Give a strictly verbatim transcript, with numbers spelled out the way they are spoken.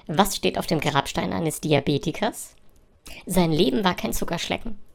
Was steht auf dem Grabstein eines Diabetikers? Sein Leben war kein Zuckerschlecken.